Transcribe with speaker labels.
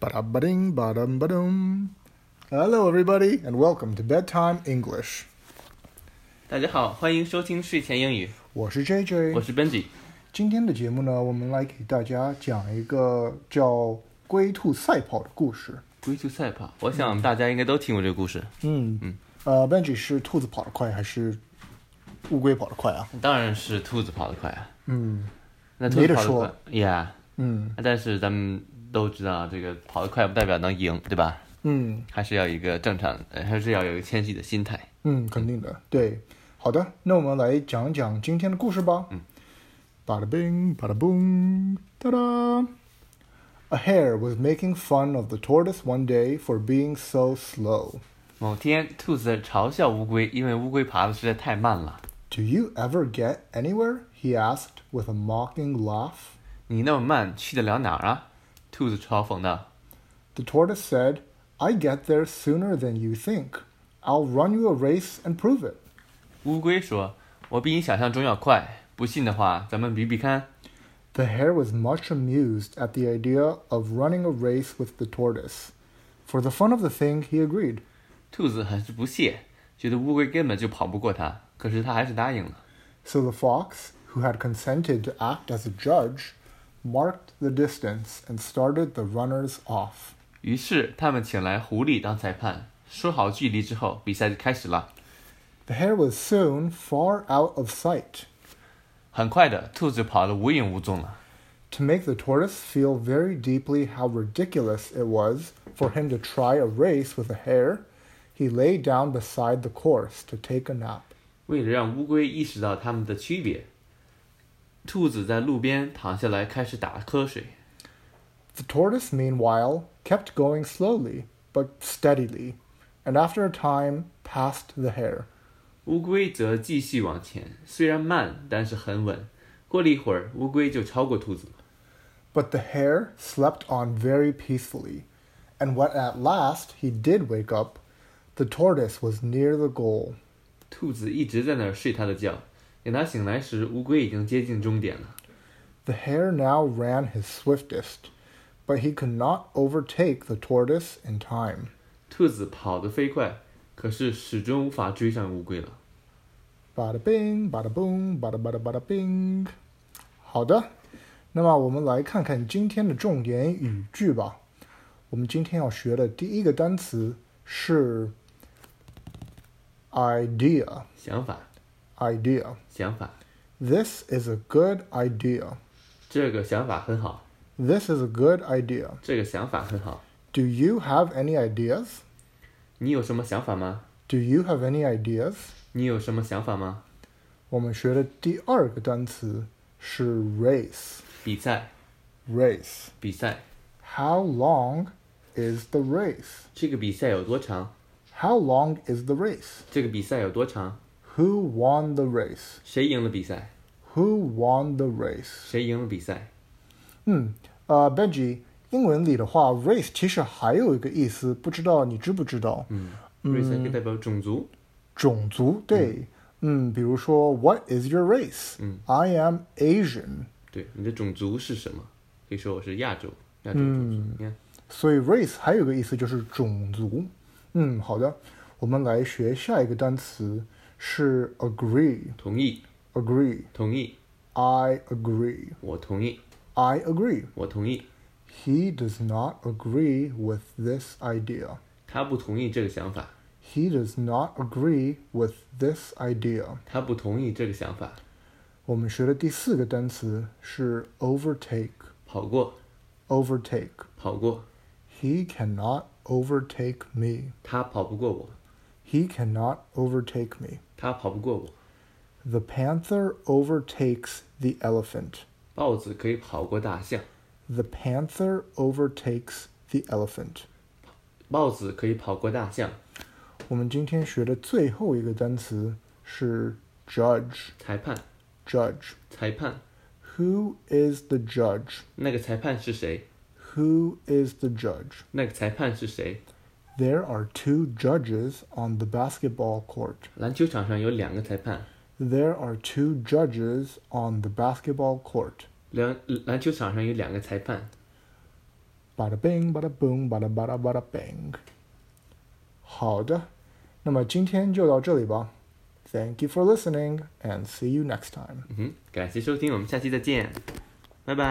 Speaker 1: Ba-da-ba-ding, ba-dum-ba-dum. Hello, everybody, and welcome to Bedtime English.
Speaker 2: 大家好，欢迎收听睡前英语。
Speaker 1: 我是 JJ，
Speaker 2: 我是 Benji。
Speaker 1: 今天的节目呢，我们来给大家讲一个叫龟兔赛跑的故事。
Speaker 2: 龟兔赛跑，我想大家应该都听过这个故事。
Speaker 1: Benji 是兔子跑得快还是乌龟跑得快啊？
Speaker 2: 当然是兔子跑得快啊。那兔
Speaker 1: 没得说
Speaker 2: 子跑得快，Yeah。但是咱们都知道，这个跑得快不代表能赢，对吧？还是要有一个正常，还是要有一个谦虚的心态。
Speaker 1: 肯定的，对。好的，那我们来讲讲今天的故事吧。Bada bing, bada boom, ta-da! A hare was making fun of the tortoise one day for being so slow.
Speaker 2: 某天，兔子嘲笑乌龟，因为乌龟爬得实在太慢了。
Speaker 1: Do you ever get anywhere? He asked with a mocking laugh.
Speaker 2: 你那么慢，去得了哪儿啊？兔子嘲讽道。
Speaker 1: The tortoise said, I get there sooner than you think. I'll run you a race and prove it.
Speaker 2: 乌龟说，我比你想象中要快，不信的话，咱们比比看。
Speaker 1: The hare was much amused at the idea of running a race with the tortoise. For the fun of the thing, he agreed.
Speaker 2: 兔子很是不屑，觉得乌龟根本就跑不过它，可是它还是答应了。
Speaker 1: So the fox, who had consented to act as a judge, marked the distance and started the runners off.
Speaker 2: 于是他们请来狐狸当裁判，说好距离之后，比赛就开始了。
Speaker 1: The hare was soon far out of sight.
Speaker 2: 很快的，兔子跑得无影无踪了。
Speaker 1: To make the tortoise feel very deeply how ridiculous it was for him to try a race with a hare, he lay down beside the course to take a nap.
Speaker 2: 为了让乌龟意识到它们的区别，兔子在路边躺下来开始打瞌睡。
Speaker 1: The tortoise, meanwhile, kept going slowly, but steadily, and after a time passed the hare.
Speaker 2: 乌龟则继续往前，虽然慢，但是很稳。过了一会儿，乌龟就超过兔子了。
Speaker 1: But the hare slept on very peacefully, and when at last he did wake up, the tortoise was near the goal.
Speaker 2: 兔子一直在那儿睡它的觉，等它醒来时，乌龟已经接近终点了。
Speaker 1: The hare now ran his swiftest, but he could not overtake the tortoise in time.
Speaker 2: 兔子跑得飞快，可是始终无法追上乌龟了。
Speaker 1: Bada bing, bada boom, bada bada bada bing. 好的，那么我们来看看今天的重点语句吧。我们今天要学的第一个单词是 idea.
Speaker 2: 想法
Speaker 1: Idea.
Speaker 2: 想法
Speaker 1: This is a good idea.
Speaker 2: 这个想法很好。
Speaker 1: This is a good idea.
Speaker 2: 这个想法很好。
Speaker 1: Do you have any ideas?
Speaker 2: 你有什么想法吗？
Speaker 1: Do you have any ideas?
Speaker 2: 你有什么想法吗？
Speaker 1: 我们学的第二个单词是 race.
Speaker 2: 比赛
Speaker 1: Race.
Speaker 2: 比赛
Speaker 1: How long is the race?
Speaker 2: 这个比赛有多长？
Speaker 1: How long is the race?
Speaker 2: 这个比赛有多长？
Speaker 1: Who won the race?
Speaker 2: 谁赢了比赛？
Speaker 1: Who won the race?
Speaker 2: 谁赢了比赛？
Speaker 1: Benji, 英文里的话 race 其实还有一个意思，不知道你知不知道
Speaker 2: race 可以代表种族。
Speaker 1: 种族，对。比如说 What is your race? I am Asian.
Speaker 2: 对，你的种族是什么？可以说我是亚洲种族。你看，
Speaker 1: 所以 race 还有个意思就是种族。好的，我们来学下一个单词是 agree.
Speaker 2: 同意
Speaker 1: Agree.
Speaker 2: 同意
Speaker 1: I agree.
Speaker 2: 我同意
Speaker 1: I agree.
Speaker 2: 我同意
Speaker 1: He does not agree with this idea.
Speaker 2: 他不同意这个想法
Speaker 1: He does not agree with this idea.
Speaker 2: 他不同意这个想法。
Speaker 1: 我们学的第四个单词是 overtake.
Speaker 2: 跑过
Speaker 1: Overtake.
Speaker 2: 跑过
Speaker 1: He cannot overtake me.
Speaker 2: 他跑不过我
Speaker 1: He cannot overtake me.
Speaker 2: 他跑不过我。
Speaker 1: The panther overtakes the elephant.
Speaker 2: 豹子可以跑过大象
Speaker 1: The panther overtakes the elephant.
Speaker 2: 豹子可以跑过大象。
Speaker 1: 我们今天学的最后一个单词是 judge.
Speaker 2: 裁判
Speaker 1: Judge.
Speaker 2: 裁判
Speaker 1: Who is the judge?
Speaker 2: 那个裁判是谁？
Speaker 1: Who is the judge?
Speaker 2: 那个裁判是谁？
Speaker 1: There are two judges on the basketball court.
Speaker 2: 篮球场上有两个裁判。
Speaker 1: There are two judges on the basketball court.
Speaker 2: 篮球场上有两个裁判。
Speaker 1: Bada bing, bada boom, bada bada bada bing。好的，那么今天就到这里吧。Thank you for listening and see you next time。
Speaker 2: 感谢收听，我们下期再见，拜拜。